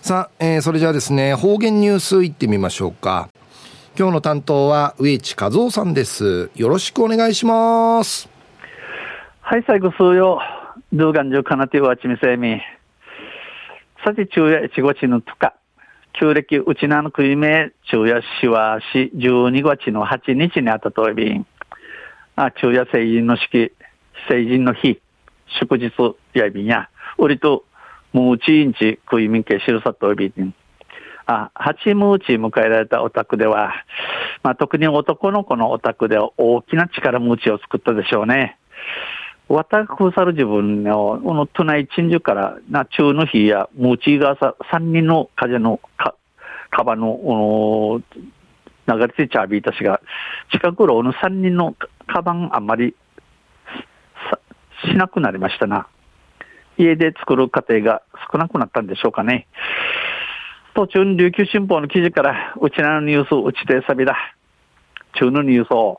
さあ、それじゃあですね、方言ニュースいってみましょうか。今日の担当は植地和夫さんです。よろしくお願いします。 はい、最後数曜ドゥーガンジュカナティワチミセミさて昼夜1月の2日旧暦うちなのくいめ昼夜しわし12月の8日にあたといびん昼夜成人の式成人の日祝日やいびんやうりとムーチインチクイミンケシルサトイビン8ムーチ迎えられたお宅では、特に男の子のお宅では大きな力ムーチを作ったでしょうね。わたくさる自分の都内鎮守からな中の日やムーチがさ3人の風のカバの流れてちゃびいたしが近くろの3人のカバンあんまりしなくなりましたな。家で作る家庭が少なくなったんでしょうかね。途中琉球新報の記事からうちなのニュースうちてさびだ中のニュースを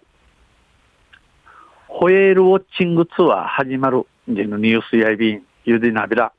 ホエールウォッチングツアー始まるでのニュースやいびんゆでなびら、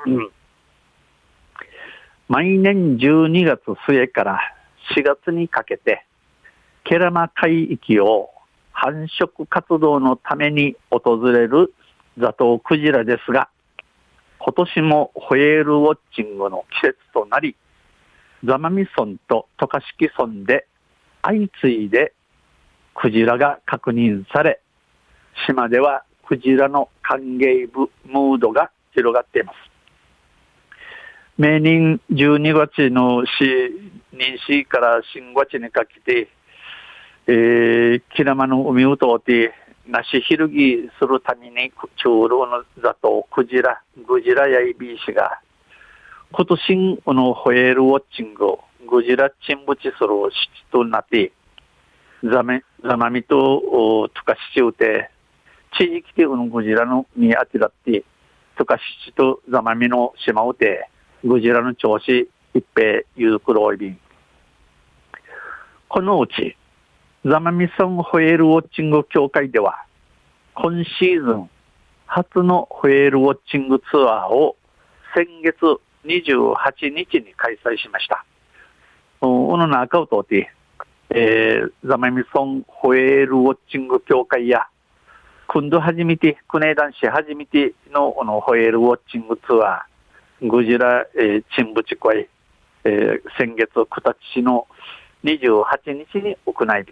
毎年12月末から4月にかけてケラマ海域を繁殖活動のために訪れるザトウクジラですが、今年もホエールウォッチングの季節となり、座間味村と渡嘉敷村で相次いでクジラが確認され、島ではクジラの歓迎ムードが広がっています。明年12月の妊娠から新月にかけて、キラマの海を通ってなしひるぎするために中老のザトウクジラグジラやいびいしが今年のホエールウォッチンググジラ沈没する七となってザマミとトカシチウテ地域でグジラの見当てだってトカシチとザマミの島うてグジラの調子一平ゆうくろいびんこのうちザマミ村ホエールウォッチング協会では今シーズン初のホエールウォッチングツアーを先月28日に開催しました。この中を通って、ザマミ村ホエールウォッチング協会や今度初めて国枝市初めてのホエールウォッチングツアーグジラ、沈没会、先月九立市の28日に行いました。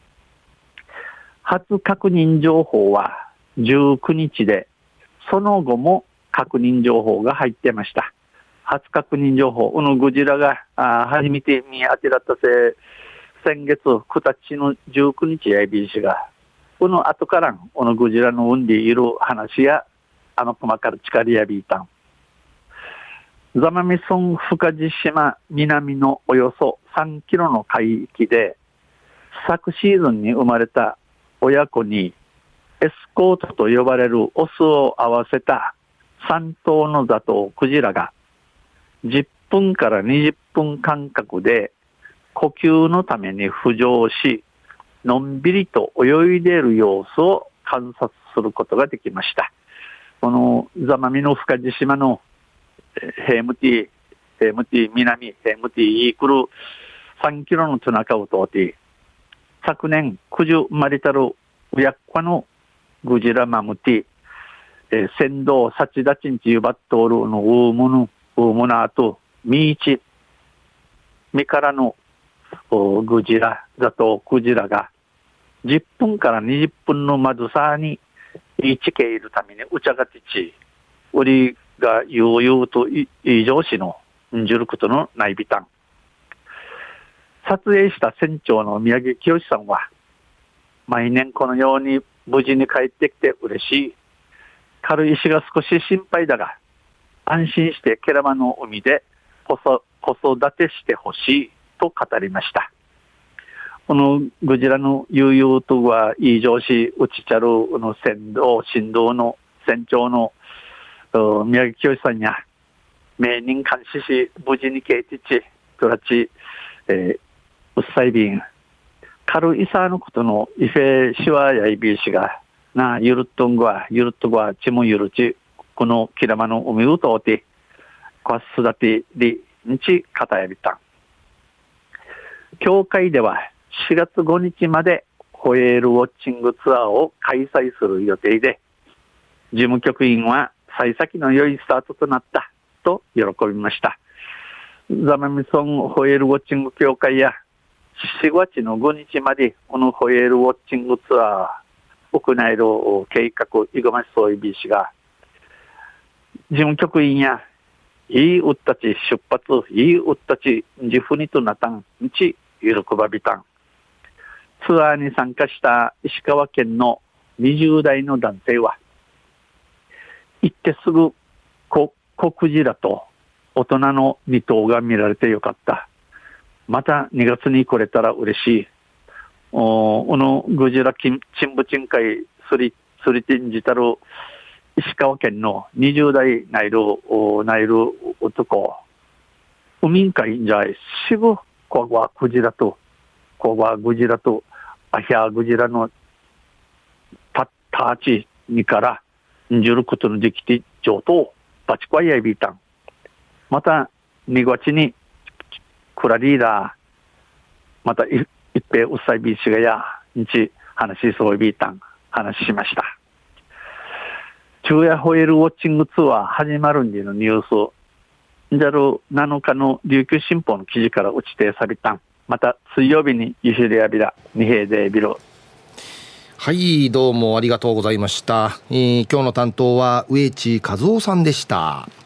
初確認情報は19日で、その後も確認情報が入っていました。初確認情報、このグジラが初めて見当てらった先月9日の19日やいびいしが、この後からこのグジラの産んでいる話や、細かる力やびいたん。座間味村深地島南のおよそ3キロの海域で昨シーズンに生まれた親子にエスコートと呼ばれるオスを合わせた3頭のザトウクジラが10分から20分間隔で呼吸のために浮上しのんびりと泳いでいる様子を観察することができました。この座間味の深地島のヘムティ南ヘムティイークル3キロのトナカを通って昨年九十マリタルウヤッカのグジラマムティ先導サチダチンチユバットールのウームナーとミからのグジラザトウクジラが10分から20分の窓さに位置けいるためにうちゃがてち売りが悠々と異常視のんじることのないびたん。撮影した船長の宮城清さんは、毎年このように無事に帰ってきて嬉しい。軽石が少し心配だが、安心してケラマの海で子育てしてほしいと語りました。このグジラの悠々とは異常視うちちゃるの船頭の船長の宮城清さんや名人監視し無事にケイティチトラチうっさいびん軽いさのことのイフェシワやいびいしがなゆるっとんごはちもゆるちこのキラマの海を通ってこわすだてで日片やびたん。協会では4月5日までホエールウォッチングツアーを開催する予定で、事務局員は幸先の良いスタートとなったと喜びました。ザマミソンホエールウォッチング協会や4月の5日までこのホエールウォッチングツアー行える計画イグマシソイビー氏が事務局員やいいうったち出発いいうったちジフニとなたん日喜ばびたん。ツアーに参加した石川県の20代の男性は行ってすぐコクジラと大人の2頭が見られてよかった。また2月に来れたら嬉しい。このグジラチンブチン会スリティンジタル石川県の20代ナイル男海んかいんじゃいしぶここはクジラとアヒャグジラのターチにからんじることのできて上等バチコアイヤビータン。また2月にクラリーダーまた一平うっさいビーチがや日話しそうビータン話しました。昼夜ホエールウォッチングツアー始まるんでのニュースじゃる7日の琉球新報の記事から打ち定さびたん。また水曜日にゆしりやびら二平でビロ。 はい、どうもありがとうございました。今日の担当は植地和夫さんでした。